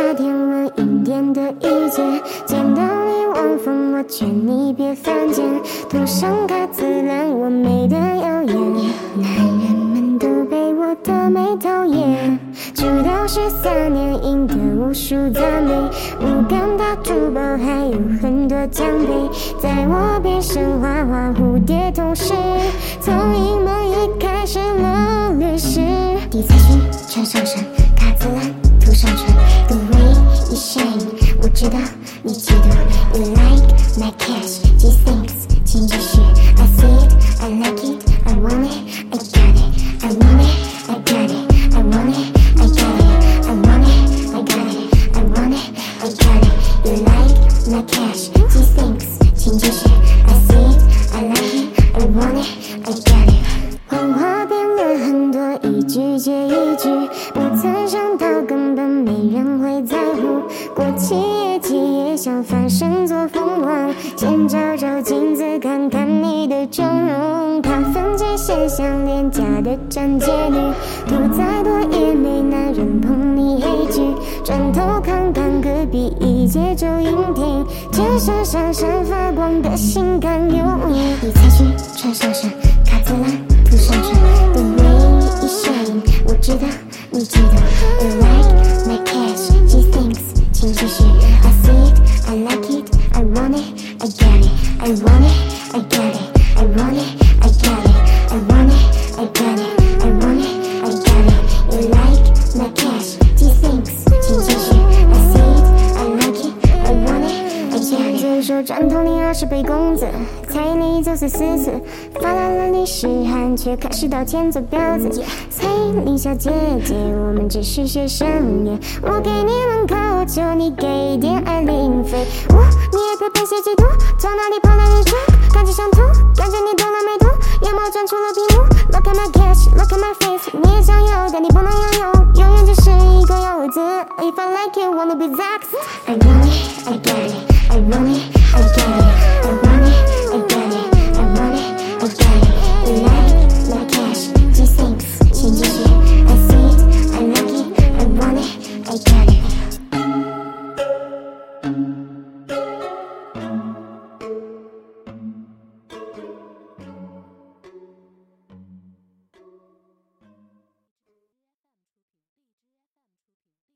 天文一点的意见，见到你望风，我劝你别犯贱，涂上卡姿兰，我美得耀眼，男人们都被我的美讨厌。出道13年，赢得无数赞美，无感大珠宝，还有很多奖杯，在我边上画画蝴蝶同时，从英梦一开始了律师。底彩裙穿上身，卡姿兰涂上唇，the way you shine， 我知道你嫉妒。You like my cash， these things， 请继续。I see it， I like it， I want it， I got it， I want it， I got it， I want it，I got it， I want it， I got it， I want it，I got it。You like my cash， these things， 请继续。I see it， I like it， I want it，I got it。谎话变了很多，一句接一句，不曾想到根本没人会在乎。过期业绩也想翻身做凤凰，先照照镜子看看你的妆容。卡分界线像廉价的站街女，涂再多也没男人碰你黑剧。转头看看隔壁一街周影厅，天上闪闪发光的性感尤物。你才去穿上身，卡姿兰涂上唇， the way you shine， 我知道你嫉妒。You like my cash， these things， 请继续。I see it， I like it， I want it，I got it，I want it，I got it，I want it，I got it，I want it，I got it，I want it，I got it。You like my cash， these things， 请继续。I see it，I like it，I want it，I got it。嘴说转头你20倍工资，彩礼走碎4次，发来了你是汗，却开始道歉做婊子。彩礼小姐姐，我们只是学生耶，我给你门口，求你给点爱零费。你也配被写嫉妒，从哪里跑来日出？感觉想吐，感觉你动了没毒，眼眸转出了屏幕。Look at my cash， look at my face， 你也想要，但你不能拥有，永远只是一个游子。If I like it， wanna be Zax。I want it， I got it，I want it，I got it，I want it，I got it，I want it，I got it。You like my cash， these things， 请继续。I see it，I like it，I want it，I got it。